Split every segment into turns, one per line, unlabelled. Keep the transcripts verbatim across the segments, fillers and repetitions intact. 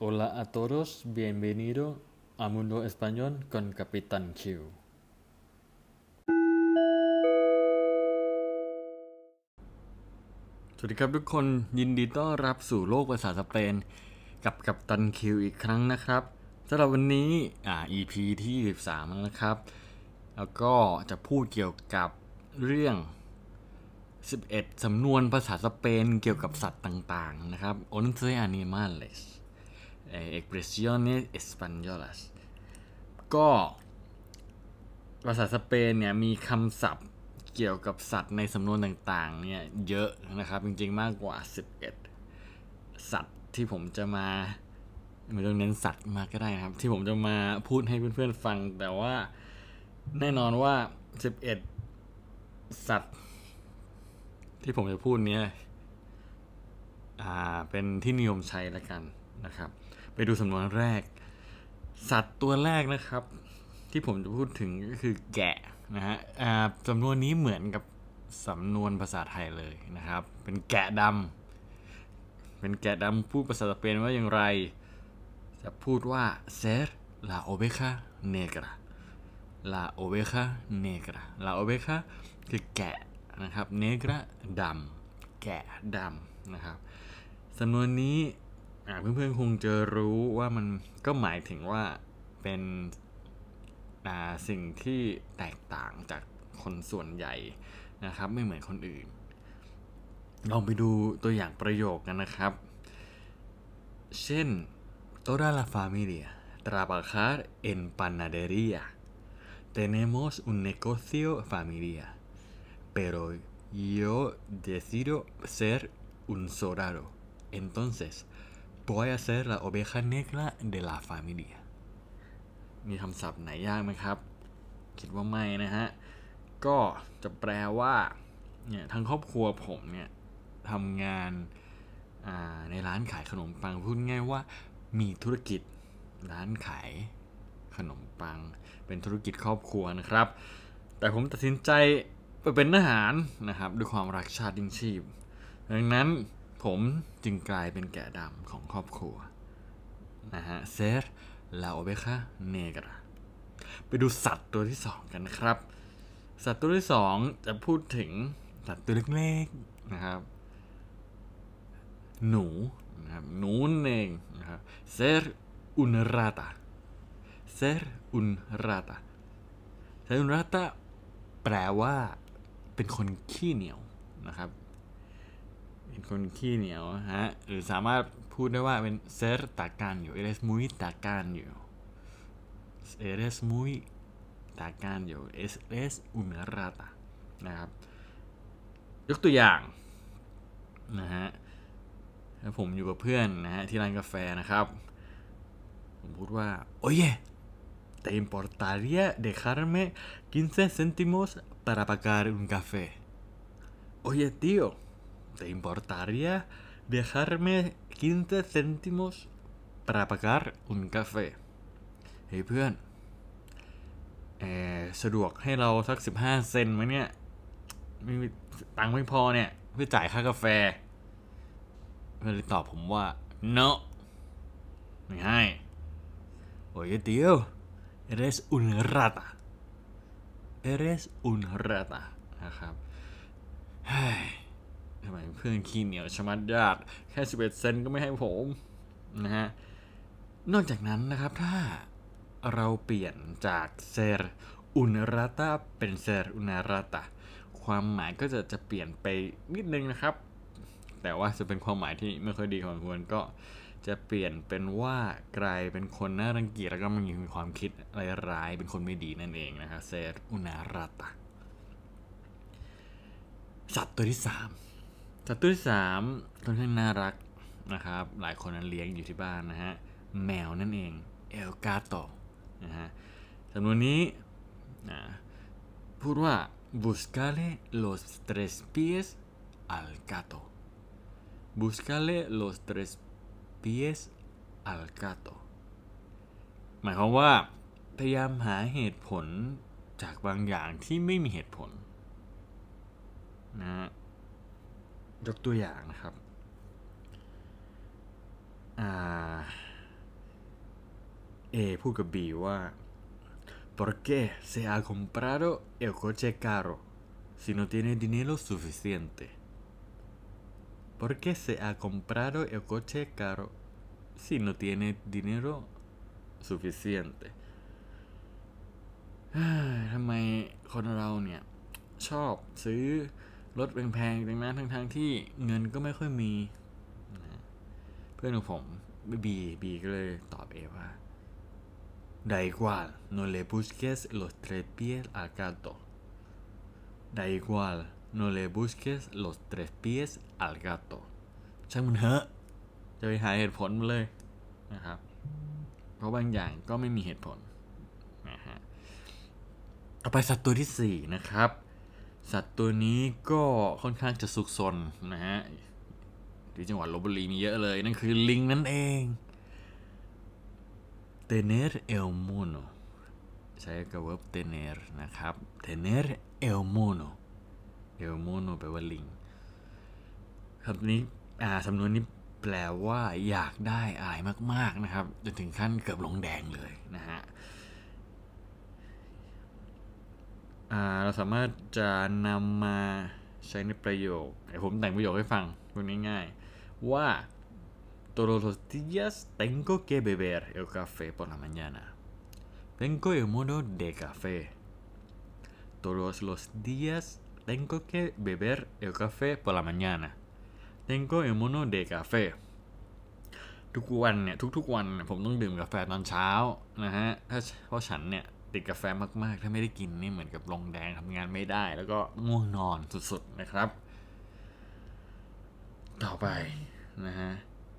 Hola a todos, bienvenido a Mundo Español con Capitán Q สวัสดีครับทุกคนยินดีต้อนรับสู่โลกภาษาสเปนกับกัปตันคิวอีกครั้งนะครับสำหรับวันนี้อ่า อี พี ที่สิบสามแล้วนะครับแล้วก็จะพูดเกี่ยวกับเรื่องสิบเอ็ดสำนวนภาษาสเปนเกี่ยวกับสัตว์ต่างๆนะครับ once animales expresiones españolas ก็ภาษาสเปนเนี่ยมีคำศัพท์เกี่ยวกับสัตว์ในสำนวนต่างๆเนี่ยเยอะนะครับจริงๆมากกว่าสิบเอ็ดสัตว์ที่ผมจะมาไม่ต้องเน้นสัตว์มาก็ได้นะครับที่ผมจะมาพูดให้เพื่อนๆฟังแต่ว่าแน่นอนว่าสิบเอ็ดสัตว์ที่ผมจะพูดเนี้ยอ่าเป็นที่นิยมใช้แล้วกันนะครับไปดูสำนวนแรกสัตว์ตัวแรกนะครับที่ผมจะพูดถึงก็คือแกะนะฮะสำนวนนี้เหมือนกับสำนวนภาษาไทยเลยนะครับเป็นแกะดำเป็นแกะดำพูดภาษาสเปนว่าอย่างไรจะพูดว่า ser la oveja negra la oveja negra la oveja คือแกะนะครับ negra ดำแกะดำนะครับสำนวนนี้เพื่อนๆคงจะรู้ว่ามันก็หมายถึงว่าเป็นสิ่งที่แตกต่างจากคนส่วนใหญ่นะครับไม่เหมือนคนอื่นลองไปดูตัวอย่างประโยคกันนะครับเช่น toda la familia trabajar en panadería tenemos un negocio familiar pero yo decido ser un soldado entonces voy a ser la oveja negra de la familiaมีคำศัพท์ไหนยากไหมครับคิดว่าไม่นะฮะก็จะแปลว่าเนี่ยทั้งครอบครัวผมเนี่ยทำงานในร้านขายขนมปังพูดง่ายว่ามีธุรกิจร้านขายขนมปังเป็นธุรกิจครอบครัวนะครับแต่ผมตัดสินใจไปเป็นทหารนะครับด้วยความรักชาติยิ่งชีพดังนั้นผมจึงกลายเป็นแกะดำของครอบครัวนะฮะ ser la oveja negra ไปดูสัตว์ตัวที่สองกันนะครับสัตว์ตัวที่สองจะพูดถึงสัตว์ตัวเล็กๆนะครับหนูนะครับหนูเองนะครับ ser un rata ser un rata ser un rata แปลว่าเป็นคนขี้เหนียวนะครับเป็นคนขี้เหนียวฮะหรือสามารถพูดได้ว่าเป็น ser tacaño eres muy tacaño eres muy tacaño eres un rata นะครับยกตัวอย่างนะฮะผมอยู่กับเพื่อนนะฮะที่ร้านกาแฟนะครับผมพูดว่า oye te importaría dejarme quince céntimos para pagar un café oye tío te importaría dejarme quince céntimos para pagar un café เฮ้ยเพื่อนเออสะดวกให้เราสักสิบห้าเซนต์มั้ยเนี่ยไม่มีตังค์ไม่พอเนี่ยเพื่อจ่ายค่ากาแฟเพื่อนเลยตอบผมว่า no ไม่ให้ oye tío eres un rata eres un rata นะครับเฮ้ยทำไมเพื่อนขี้เหนียวชะมัดญาติแค่สิบเอ็ดเซนต์ก็ไม่ให้ผมนะฮะนอกจากนั้นนะครับถ้าเราเปลี่ยนจาก ser un rata เป็น ser una rata ความหมายก็จะจะเปลี่ยนไปนิดนึงนะครับแต่ว่าจะเป็นความหมายที่ไม่ค่อยดีของควรก็จะเปลี่ยนเป็นว่ากลายเป็นคนน่ารังเกียจแล้วก็มันมีความคิดร้ายๆเป็นคนไม่ดีนั่นเองนะครับ ser una rata สัตว์ตัวที่สามสัตว์ตัวที่สามค่อนข้างน่ารักนะครับหลายคนนั้นเลี้ยงอยู่ที่บ้านนะฮะแมวนั่นเอง el gato นะฮะสำนวนนี้นะพูดว่า buscale los tres pies al gato buscale los tres pies al gato หมายความว่าพยายามหาเหตุผลจากบางอย่างที่ไม่มีเหตุผลนะฮะยกตัวอย่างนะครับอ่า A พูดกับ B ว่า ¿por qué se ha comprado el coche caro si no tiene dinero suficiente? ¿Por qué se ha comprado el coche caro si no tiene dinero suficiente? ทำไมคนเราเนี่ยชอบซื้อรถแพงๆดังนั้นทั้งๆที่เงินก็ไม่ค่อยมีนะเพื่อนของผมบีบีก็เลยตอบเอว่า Da igual no le busques los tres pies al gato Da igual no le busques los tres pies al gato ช่างมันเถอะจะไปหาเหตุผลมาเลยนะครับเพราะบางอย่างก็ไม่มีเหตุผลนะฮะต่อไปสัตว์ตัวที่สี่นะครับสัตว์ตัวนี้ก็ค่อนข้างจะสุกซนนะฮะที่จังหวัดลพบุรีมีเยอะเลยนั่นคือลิงนั่นเอง tener el mono ใช้กับ verb tener นะครับ tener el mono el mono แปลว่าลิงคำนี้อ่าสำนวนนี้แปลว่าอยากได้อะไรมากๆนะครับจนถึงขั้นเกือบลงแดงเลยนะฮะเราสามารถจะนำมาใช้ในประโยคเดี๋ยวผมแต่งประโยคให้ฟังพูดง่ายๆว่า todos los días tengo que beber el café por la mañana tengo el mono de café todos los días tengo que beber el café por la mañana tengo el mono de café ทุกวันเนี่ยทุกๆวันผมต้องดื่มกาแฟตอนเช้านะฮะถ้าเพราะฉันเนี่ยติดกาแฟมากๆถ้าไม่ได้กินนี่เหมือนกับลงแดงทำงานไม่ได้แล้วก็ง่วงนอนสุดๆนะครับต่อไปนะฮะ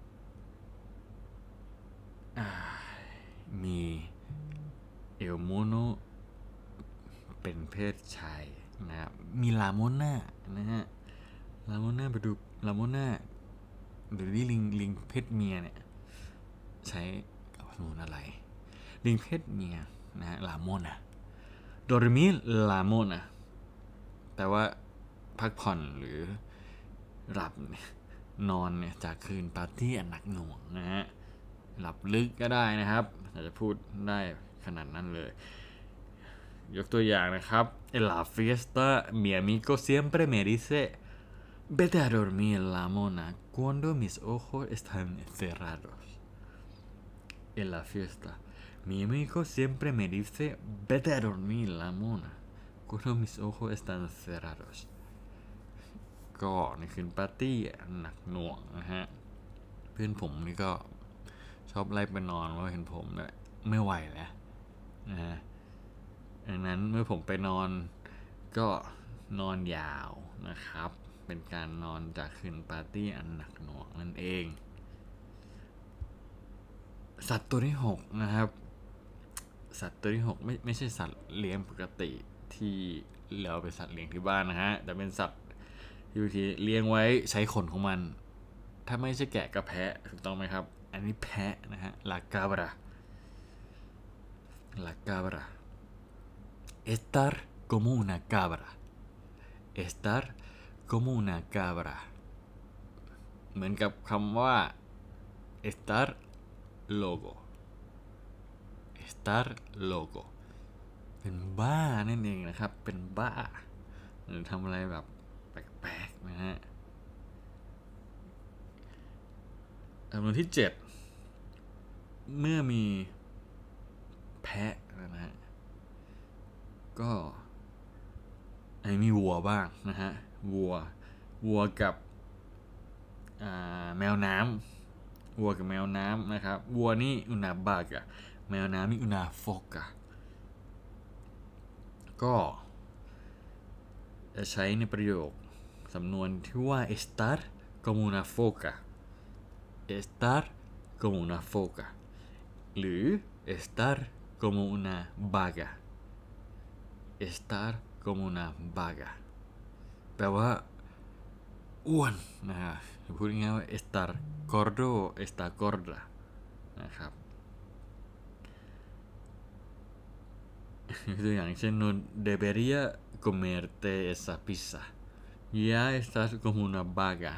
มีเอลโมโนเป็นเพศชายนะครับมีลาโมน่านะฮะลาโมน่าไปดูลาโมน่าหรือลิงลิงเพศเมียเนี่ยใช้กับสมุนอะไรลิงเพศเมียนะฮะลาโมน่า dormir la mona แปลว่าพักผ่อนหรือหลับเนี่ยนอนเนี่ยจากคืนปาร์ตี้อันหนักหน่วงนะฮะหลับลึกก็ได้นะครับอาจจะพูดได้ขนาดนั้นเลยยกตัวอย่างนะครับ en la fiesta mi amigo siempre me dice vete a dormir la mona cuando mis ojos están cerrados en la fiesta mi amigo siempre me dice vete a dormir la mona cuando mis ojos están cerrados ก็ในคืนปาร์ตี้หนักหน่วงนะฮะเพื่อนผมนี่ก็ชอบไล่ไปนอนเพราะเห็นผมเนี่ยไม่ไหวแล้วนะฮะดังนั้นเมื่อผมไปนอนก็นอนยาวนะครับเป็นการนอนจากคืนปาร์ตี้อันหนักหน่วงนั่นเองสัตว์ตัวที่หกนะครับสัตว์ตัวที่หกไม่ไม่ใช่สัตว์เลี้ยงปกติที่เราเป็นสัตว์เลี้ยงที่บ้านนะฮะแต่เป็นสัตว์ที่บางทีเลี้ยงไว้ใช้ขนของมันถ้าไม่ใช่แกะกับแพะถูกต้องไหมครับอันนี้แพะนะฮะ la cabra la cabra estar como una cabra estar como una cabra เหมือนกับคำว่า estar loco estar loco เป็นบ้านั่นเองนะครับเป็นบ้าหรือทำอะไรแบบแปลกๆนะฮะจำนวนที่เจ็ดเมื่อมีแพะนะฮะก็ไอ้มีวัวบ้างนะฮะวัววัวกับแมวน้ำวัวกับแมวน้ำนะครับวัวนี่อุนาบากะแมวน้ำนี่อุนาโฟกะก็จะใช้ในประโยคสำนวนที่ว่า estar como una foca estar como una foca หรือ estar como una vaca estar como una vaca แปลว่าอ้วนนะฮะพูดง่ายๆว่า estar gordo estar gorda นะครับตัวอย่างเช่น no debería comerte esa pizza ya estás como una vaca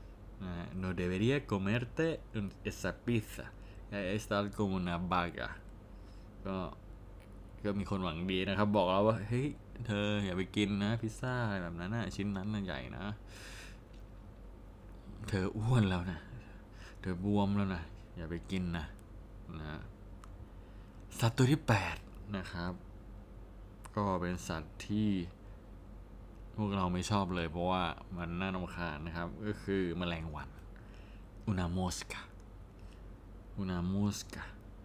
no debería comerte esa pizza ya estás como una vaca ก็ก็มีคนหวังดีนะครับบอกเราว่าเฮ้ยเธออย่าไปกินนะพิซซ่าอะไรแบบนั้นนะชิ้นนั้นน่ะใหญ่นะเธออ้วนแล้วนะเธอบวมแล้วนะอย่าไปกินนะนะสัตว์ตัวที่แปดนะครับก็เป็นสัตว์ที่พวกเราไม่ชอบเลยเพราะว่ามันน่ารำคาญนะครับก็คือแมลงวันอุนาโมสกาอุนาโมสกา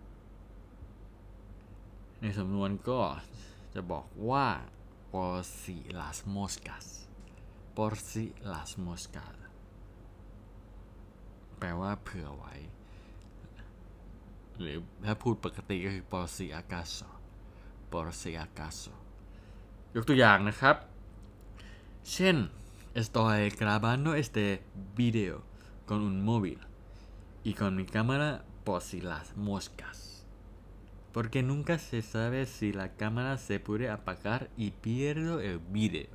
ในสำนวนก็จะบอกว่า por si las moscas por si las moscas แปลว่าเผื่อไว้หรือถ้าพูดปกติก็คือ por si acaso por si acaso ยกตัวอย่างนะครับเช่น estoy grabando este video con un móvil y con mi cámara por si las moscas porque nunca se sabe si la cámara se puede apagar y pierdo el video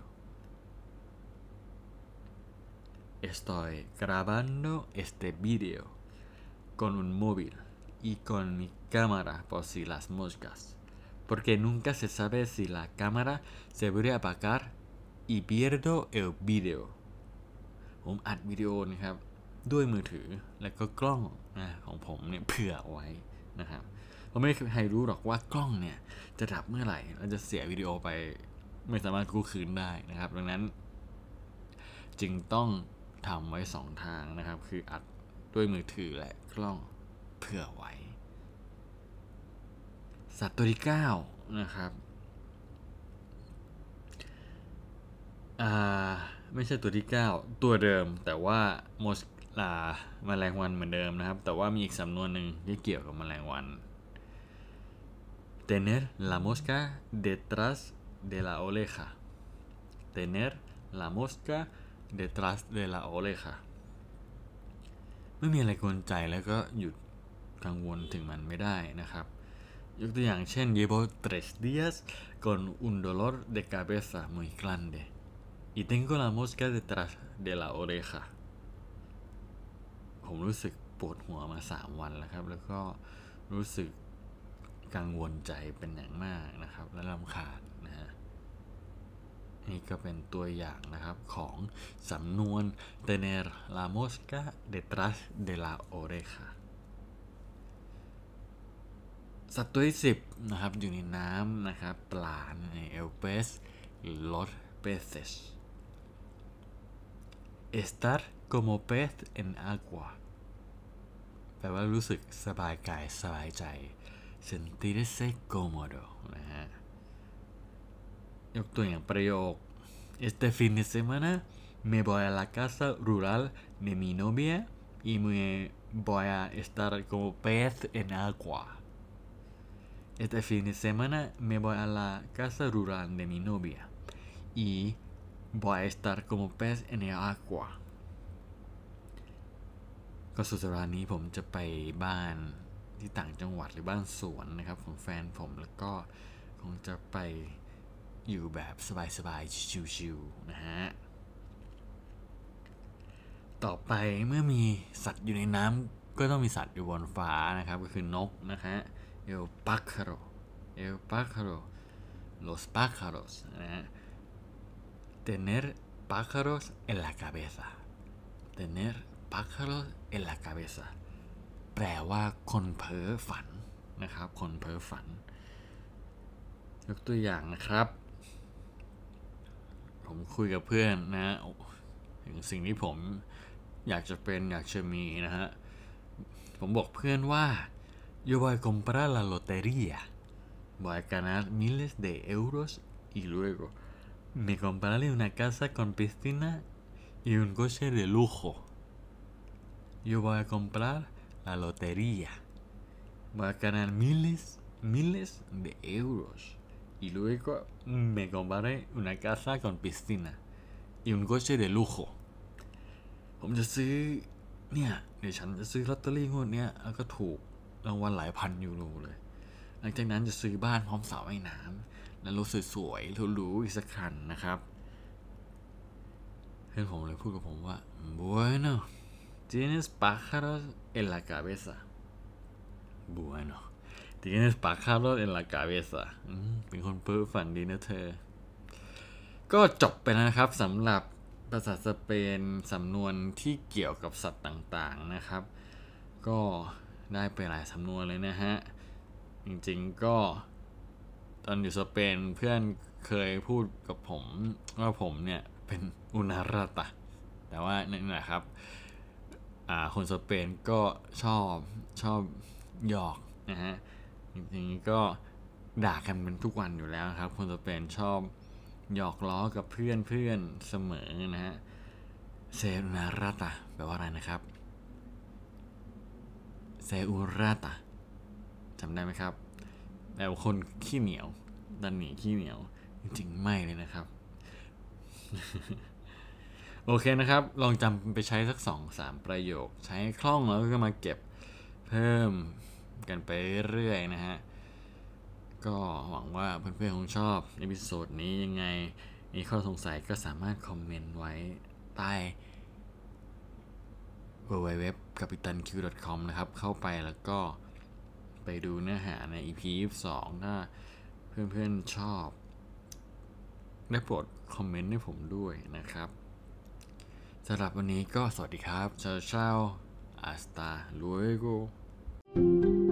estoy grabando este video con un móvil y con mi cámara por si las moscas porque nunca se sabe si la cámara se puede apagar y pierdo el video ผมอัดวิดีโอนะครับด้วยมือถือแล้วก็กล้องนะของผมเนี่ยเผื่อไว้นะครับเพราะไม่มีใครรู้หรอกว่ากล้องเนี่ยจะดับเมื่อไหร่เราจะเสียวิดีโอไปไม่สามารถกู้คืนได้นะครับดังนั้นจึงต้องทำไว้สองทางนะครับคืออัดด้วยมือถือและกล้องเผื่อไว้สัตว์ตัวที่เก้านะครับอ่าไม่ใช่ตัวที่เก้าตัวเดิมแต่ว่าโมสลาแมลงวันเหมือนเดิมนะครับแต่ว่ามีอีกสำนวนหนึ่งที่เกี่ยวกับแมลงวัน tener la mosca detrás de la oreja tener la mosca detrás de la oreja ไม่มีอะไรกวนใจแล้วก็หยุดกังวลถึงมันไม่ได้นะครับยกตัวอย่างเช่น llevo tres días con un dolor de cabeza muy grande y tengo la mosca detrás de la oreja ผมรู้สึกปวดหัวมาสามวันแล้วครับแล้วก็รู้สึกกังวลใจเป็นอย่างมากนะครับและรำคาญนะฮะนี่ก็เป็นตัวอย่างนะครับของสำนวน tener la mosca detrás de la oreja สัตว์ตัวที่สิบนะครับอยู่ในน้ำนะครับปลาใน el pez los peces estar como pez en agua แปลว่ารู้สึกสบายกายสบายใจ sentirse cómodo นะฮะยกตัวอย่างประโยค este fin de semana me voy a la casa rural de mi novia y me voy a estar como pez en agua este fin de semana me voy a la casa rural de mi novia y voy a estar como pez en el agua ก็สุดสัปดาห์นี้ผมจะไปบ้านที่ต่างจังหวัดหรือบ้านสวนนะครับของแฟนผมแล้วก็คงจะไปอยู่แบบสบายๆชิวๆนะฮะต่อไปเมื่อมีสัตว์อยู่ในน้ำก็ต้องมีสัตว์อยู่บนฟ้านะครับก็คือนกนะฮะ el pájaro el pájaro los pájaros นะฮะ tener pájaros en la cabeza tener pájaros en la cabeza แปลว่าคนเพ้อฝันนะครับคนเพ้อฝันยกตัวอย่างนะครับผมคุยกับเพื่อนนะถึงสิ่งที่ผมอยากจะเป็นอยากจะมีนะฮะผมบอกเพื่อนว่า yo voy a comprar la lotería voy a ganar miles de euros y luego me compraré una casa con piscina y un coche de lujo yo voy a comprar la lotería voy a ganar miles miles de euros y luego me compraré una casa con piscina y un coche de lujo ผมจะซื้อเนี่ยเดี๋ยวฉันจะซื้อลอตเตอรี่งวดเนี้ยแล้วก็ถูกรางวัลหลายพันยูโรเลยหลังจากนั้นจะซื้อบ้านพร้อมสระว่ายน้ำและรถสวยๆหรูๆอีกสักคันนะครับเพื่อนผมเลยพูดกับผมว่า bueno tienes pájaros en la cabeza bueno tienes pájaros en la cabeza เป็นคนเพ้อฝันดีนะเธอก็จบไปแล้วนะครับสำหรับภาษาสเปนสำนวนที่เกี่ยวกับสัตว์ต่างๆนะครับก็ได้ไปหลายสำนวนเลยนะฮะจริงๆก็ตอนอยู่สเปนเพื่อนเคยพูดกับผมว่าผมเนี่ยเป็นอุนาราตะแต่ว่านี่แหละครับคนสเปนก็ชอบชอบหยอกนะฮะจริงๆก็ด่ากันเป็นทุกวันอยู่แล้วครับคนสเปนชอบหยอกล้อกับเพื่อนเพื่อนเสมอนะฮะเซอุนาราตะแปลว่าอะไรนะครับเซอุราตะจำได้ไหมครับแปลว่าคนขี้เหนียวดันหนีขี้เหนียวจริงๆไม่เลยนะครับ โอเคนะครับลองจำไปใช้สัก สองถึงสาม ประโยคใช้คล่องแล้วก็มาเก็บเพิ่มกันไปเรื่อยๆนะฮะก็หวังว่าเพื่อนๆคงชอบเอพิโซดนี้ยังไงมีข้อสงสัยก็สามารถคอมเมนต์ไว้ใต้ ดับเบิลยู ดับเบิลยู ดับเบิลยู ดอท กัปตันคิว ดอท คอม นะครับเข้าไปแล้วก็ไปดูเนื้อหาใน อี พี ยี่สิบสองถ้าเพื่อนๆชอบได้โปรดคอมเมนต์ให้ผมด้วยนะครับสำหรับวันนี้ก็สวัสดีครับ เช้าเช้า hasta luego